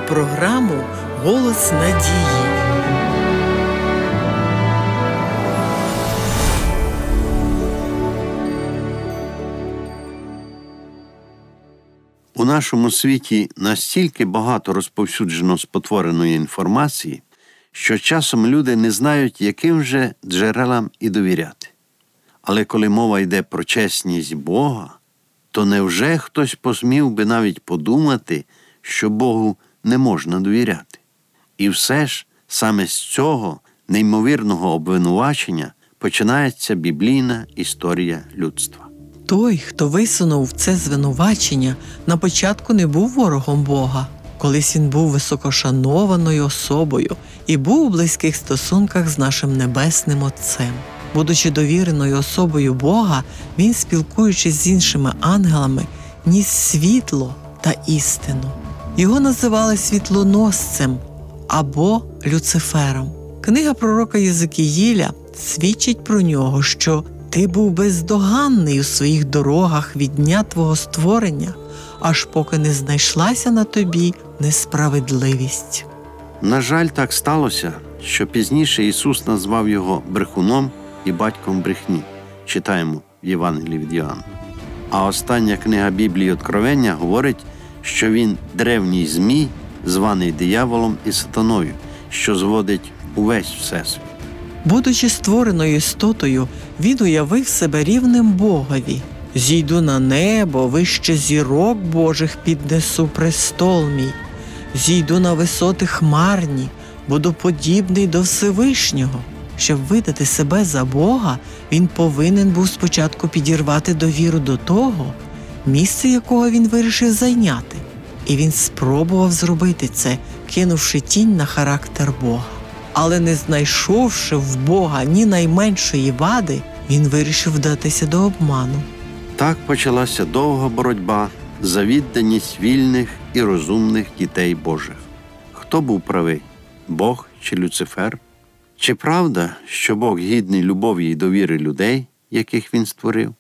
програму «Голос надії». У нашому світі настільки багато розповсюджено спотвореної інформації, що часом люди не знають, яким же джерелам і довіряти. Але коли мова йде про чесність Бога, то невже хтось посмів би навіть подумати, що Богу не можна довіряти? І все ж саме з цього неймовірного обвинувачення починається біблійна історія людства. Той, хто висунув це звинувачення, на початку не був ворогом Бога. Колись він був високошанованою особою і був у близьких стосунках з нашим Небесним Отцем. Будучи довіреною особою Бога, він, спілкуючись з іншими ангелами, ніс світло та істину. Його називали світлоносцем або Люцифером. Книга пророка Єзекіїля свідчить про нього, що «Ти був бездоганний у своїх дорогах від дня твого створення, аж поки не знайшлася на тобі несправедливість». На жаль, так сталося, що пізніше Ісус назвав його брехуном і батьком брехні. Читаємо в Євангелії від Йоанна. А остання книга Біблії Откровення говорить, що він древній змій, званий дияволом і сатаною, що зводить увесь всесвіт. Будучи створеною істотою, він уявив себе рівним Богові. «Зійду на небо, вище зірок Божих піднесу престол мій. Зійду на висоти хмарні, буду подібний до Всевишнього». Щоб видати себе за Бога, він повинен був спочатку підірвати довіру до того, місце якого він вирішив зайняти. І він спробував зробити це, кинувши тінь на характер Бога. Але не знайшовши в Бога ні найменшої вади, він вирішив вдатися до обману. Так почалася довга боротьба за відданість вільних і розумних дітей Божих. Хто був правий? Бог чи Люцифер? Чи правда, що Бог гідний любові і довіри людей, яких Він створив?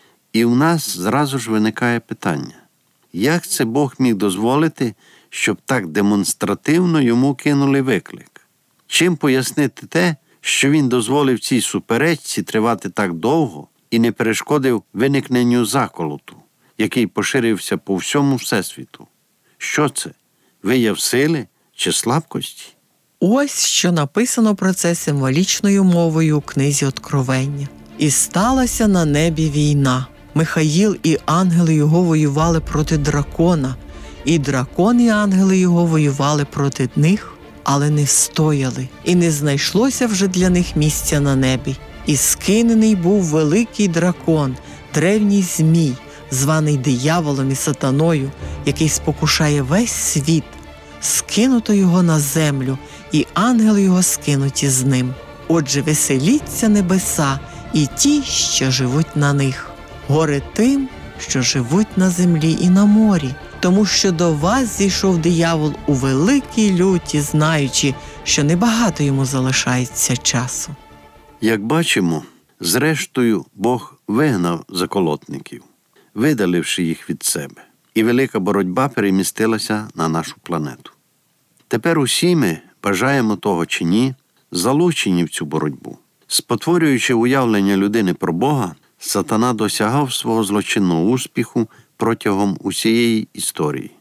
І в нас зразу ж виникає питання. Як це Бог міг дозволити, щоб так демонстративно йому кинули виклик? Чим пояснити те, що він дозволив цій суперечці тривати так довго і не перешкодив виникненню заколоту, який поширився по всьому Всесвіту? Що це? Вияв сили чи слабкості? Ось що написано про це символічною мовою у книзі Откровення. «І сталася на небі війна. Михаїл і ангели його воювали проти дракона, і дракон і ангели його воювали проти них, але не встояли, і не знайшлося вже для них місця на небі. І скинений був великий дракон, древній змій, званий дияволом і сатаною, який спокушає весь світ. Скинуто його на землю, і ангели його скинуті з ним. Отже, веселіться небеса і ті, що живуть на них. Горе тим, що живуть на землі і на морі, тому що до вас зійшов диявол у великій люті, знаючи, що небагато йому залишається часу». Як бачимо, зрештою Бог вигнав заколотників, видаливши їх від себе, і велика боротьба перемістилася на нашу планету. Тепер усі ми, бажаємо того чи ні, залучені в цю боротьбу. Спотворюючи уявлення людини про Бога, сатана досягав свого злочинного успіху протягом усієї історії.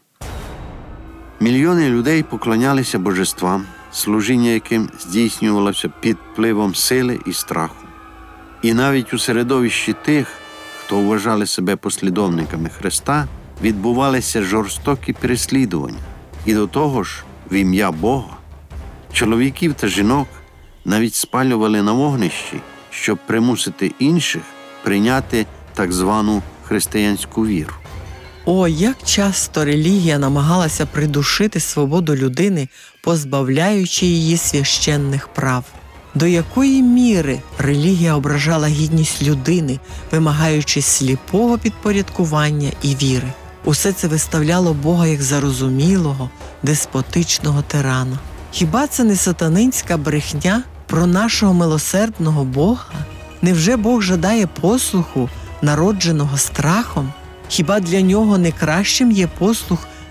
Мільйони людей поклонялися божествам, служіння яким здійснювалося під впливом сили і страху. І навіть у середовищі тих, хто вважали себе послідовниками Христа, відбувалися жорстокі переслідування. І до того ж, в ім'я Бога, чоловіків та жінок навіть спалювали на вогнищі, щоб примусити інших прийняти так звану християнську віру. О, як часто релігія намагалася придушити свободу людини, позбавляючи її священних прав. До якої міри релігія ображала гідність людини, вимагаючи сліпого підпорядкування і віри. Усе це виставляло Бога як зарозумілого, деспотичного тирана. Хіба це не сатанинська брехня про нашого милосердного Бога? Невже Бог жадає послуху, народженого страхом? Хіба для нього не кращим є послух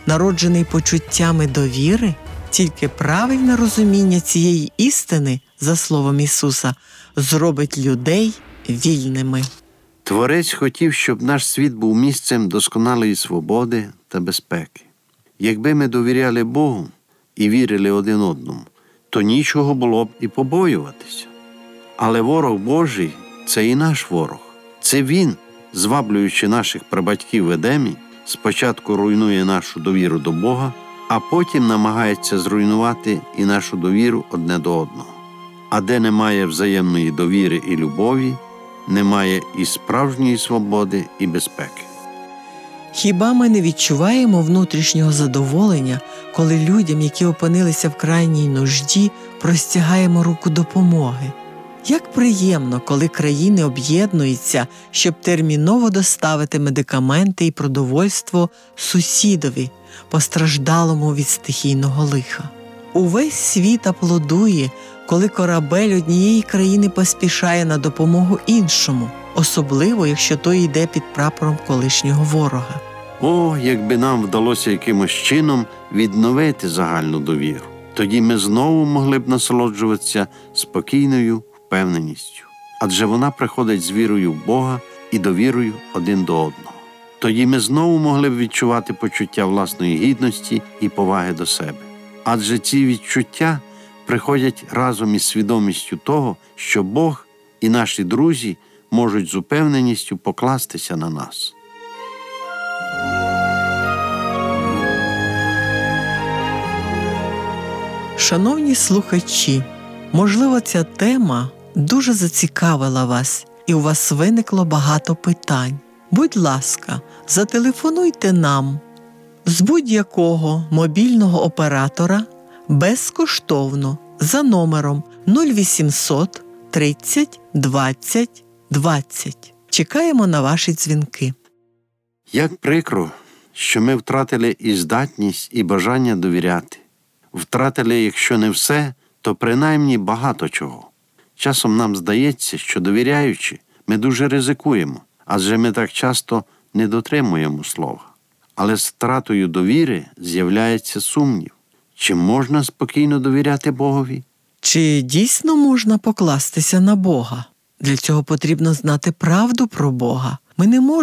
народжений почуттями довіри, тільки правильне розуміння цієї істини, за словом Ісуса, зробить людей вільними. Творець хотів, щоб наш світ був місцем досконалої свободи та безпеки. Якби ми довіряли Богу і вірили один одному, то нічого було б і побоюватися. Але ворог Божий – це і наш ворог. Це він, зваблюючи наших прабатьків в Едемі, спочатку руйнує нашу довіру до Бога, а потім намагається зруйнувати і нашу довіру одне до одного. А де немає взаємної довіри і любові, немає і справжньої свободи і безпеки. Хіба ми не відчуваємо внутрішнього задоволення, коли людям, які опинилися в крайній нужді, простягаємо руку допомоги? Як приємно, коли країни об'єднуються, щоб терміново доставити медикаменти і продовольство сусідові, постраждалому від стихійного лиха. Увесь світ аплодує, коли корабель однієї країни поспішає на допомогу іншому, особливо, якщо той йде під прапором колишнього ворога. О, якби нам вдалося якимось чином відновити загальну довіру. Тоді ми знову могли б насолоджуватися спокійною впевненістю. Адже вона приходить з вірою в Бога і довірою один до одного. Тоді ми знову могли б відчувати почуття власної гідності і поваги до себе. Адже ці відчуття приходять разом із свідомістю того, що Бог і наші друзі можуть з упевненістю покластися на нас. Шановні слухачі, можливо, ця тема дуже зацікавила вас і у вас виникло багато питань. Будь ласка, зателефонуйте нам з будь-якого мобільного оператора безкоштовно за номером 0800 30 20 20. Чекаємо на ваші дзвінки. Як прикро, що ми втратили і здатність, і бажання довіряти. Втратили, якщо не все, то принаймні багато чого. Часом нам здається, що довіряючи, ми дуже ризикуємо, адже ми так часто не дотримуємо слова. Але з втратою довіри з'являється сумнів. Чи можна спокійно довіряти Богові? Чи дійсно можна покластися на Бога? Для цього потрібно знати правду про Бога. Ми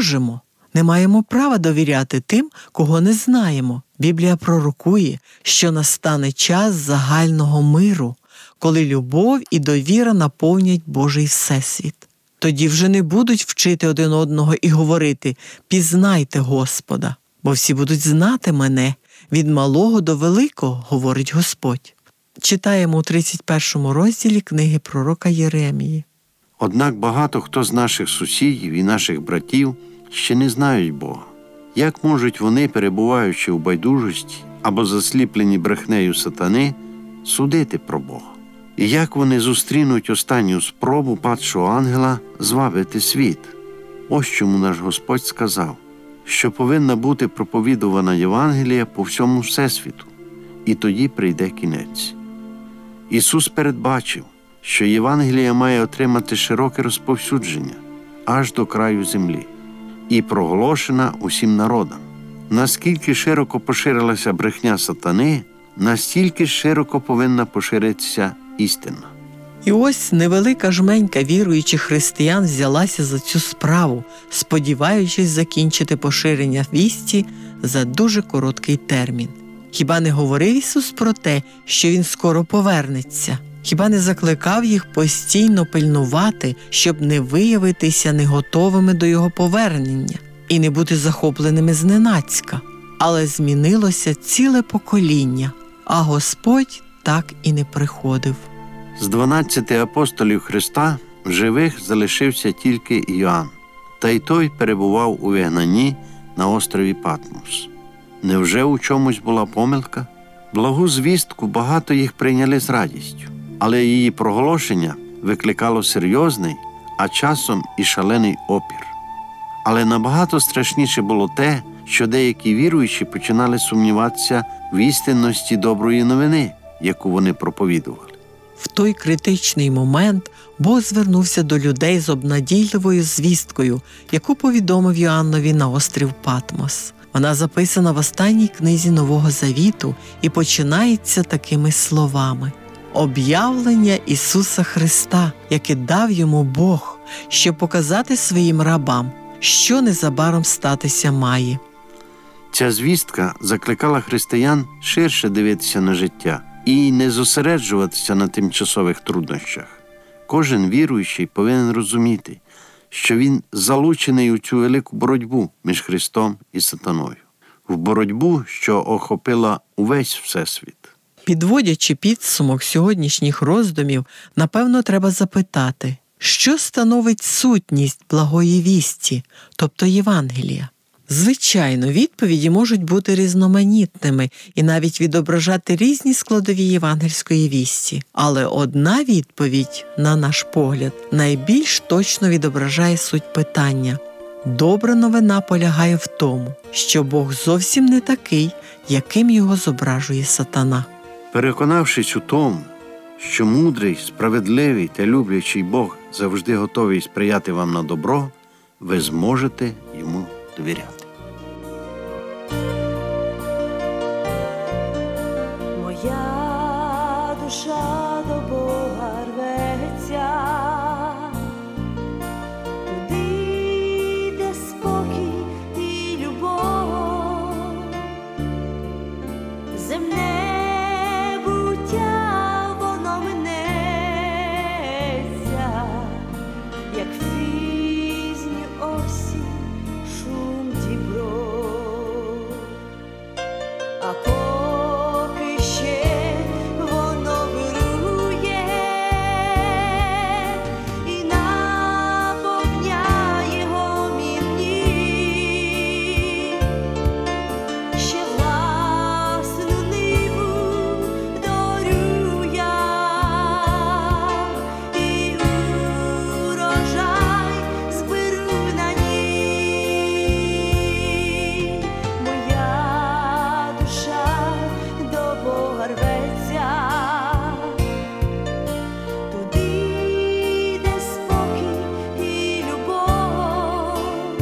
не маємо права довіряти тим, кого не знаємо. Біблія пророкує, що настане час загального миру, коли любов і довіра наповнять Божий всесвіт. Тоді вже не будуть вчити один одного і говорити «Пізнайте Господа», бо всі будуть знати мене, від малого до великого, говорить Господь. Читаємо у 31 розділі книги пророка Єремії. Однак багато хто з наших сусідів і наших братів ще не знають Бога. Як можуть вони, перебуваючи у байдужості або засліплені брехнею сатани, судити про Бога? І як вони зустрінуть останню спробу падшого ангела звабити світ? Ось чому наш Господь сказав, що повинна бути проповідувана Євангелія по всьому всесвіту, і тоді прийде кінець. Ісус передбачив, що Євангелія має отримати широке розповсюдження аж до краю землі і проголошена усім народам. Наскільки широко поширилася брехня сатани, настільки широко повинна поширитися істина. І ось невелика жменька віруючих християн взялася за цю справу, сподіваючись закінчити поширення вісті за дуже короткий термін. Хіба не говорив Ісус про те, що Він скоро повернеться? Хіба не закликав їх постійно пильнувати, щоб не виявитися неготовими до Його повернення і не бути захопленими зненацька? Але змінилося ціле покоління, а Господь так і не приходив. З 12 апостолів Христа в живих залишився тільки Іоанн, та й той перебував у вигнанні на острові Патмос. Невже у чомусь була помилка? Благу звістку багато їх прийняли з радістю, але її проголошення викликало серйозний, а часом і шалений опір. Але набагато страшніше було те, що деякі віруючі починали сумніватися в істинності доброї новини, яку вони проповідували. В той критичний момент Бог звернувся до людей з обнадійливою звісткою, яку повідомив Йоаннові на острів Патмос. Вона записана в останній книзі Нового Завіту і починається такими словами: «Об'явлення Ісуса Христа, яке дав йому Бог, щоб показати своїм рабам, що незабаром статися має». Ця звістка закликала християн ширше дивитися на життя і не зосереджуватися на тимчасових труднощах. Кожен віруючий повинен розуміти, що він залучений у цю велику боротьбу між Христом і сатаною. В боротьбу, що охопила увесь Всесвіт. Підводячи підсумок сьогоднішніх роздумів, напевно, треба запитати, що становить сутність благої вісті, тобто Євангелія? Звичайно, відповіді можуть бути різноманітними і навіть відображати різні складові євангельської вісті. Але одна відповідь, на наш погляд, найбільш точно відображає суть питання. Добра новина полягає в тому, що Бог зовсім не такий, яким його зображує сатана. Переконавшись у тому, що мудрий, справедливий та люблячий Бог завжди готовий сприяти вам на добро, ви зможете йому довіряти. Моя душа до Бога рветься, туди, де спокій і любов, земне буття воно минеться, як в пізню осінь шум дібров. А поки ще воно вирує і наповняє гомінні, ще власну ниву дорю я, і урожай зберу на ній. Моя душа до Бога рветься, туди, де спокій і любов,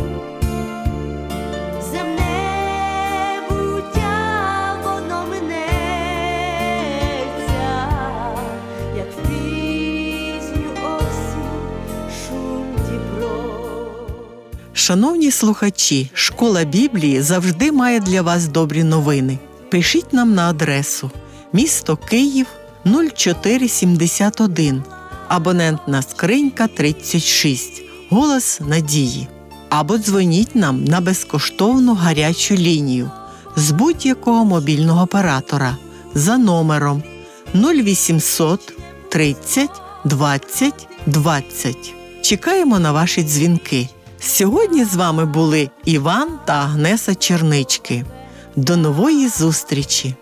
земне буття воно минеться, як в пізню осінь шум дібров. Шановні слухачі, Школа Біблії завжди має для вас добрі новини. Пишіть нам на адресу місто Київ 0471, абонентна скринька 36, Голос Надії. Або дзвоніть нам на безкоштовну гарячу лінію з будь-якого мобільного оператора за номером 0800 30 20 20. Чекаємо на ваші дзвінки. Сьогодні з вами були Іван та Агнеса Чернички. До нової зустрічі!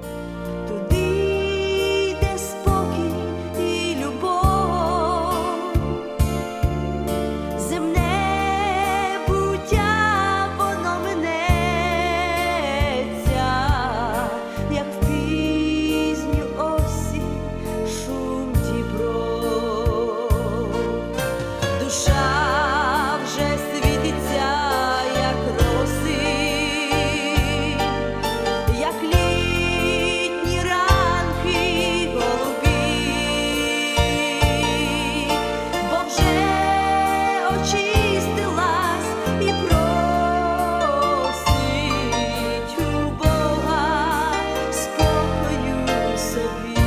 Туди, де спокій і любов, земне буття воно минеться, як в пізню осінь шум дібров. Душа вже світиться, як роси, як літні ранки голубі, бо вже очистилась і просить у Бога спокою собі.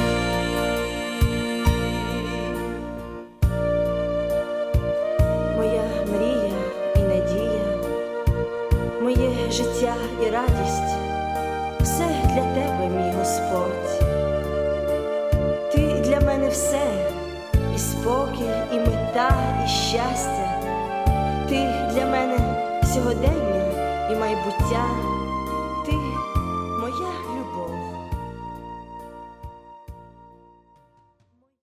Моя мрія і надія, моє життя і радість – все для тебе, мій Господь. Ти для мене все, і спокій, і мета, і щастя. Ти для мене сьогодення і майбуття. Ти моя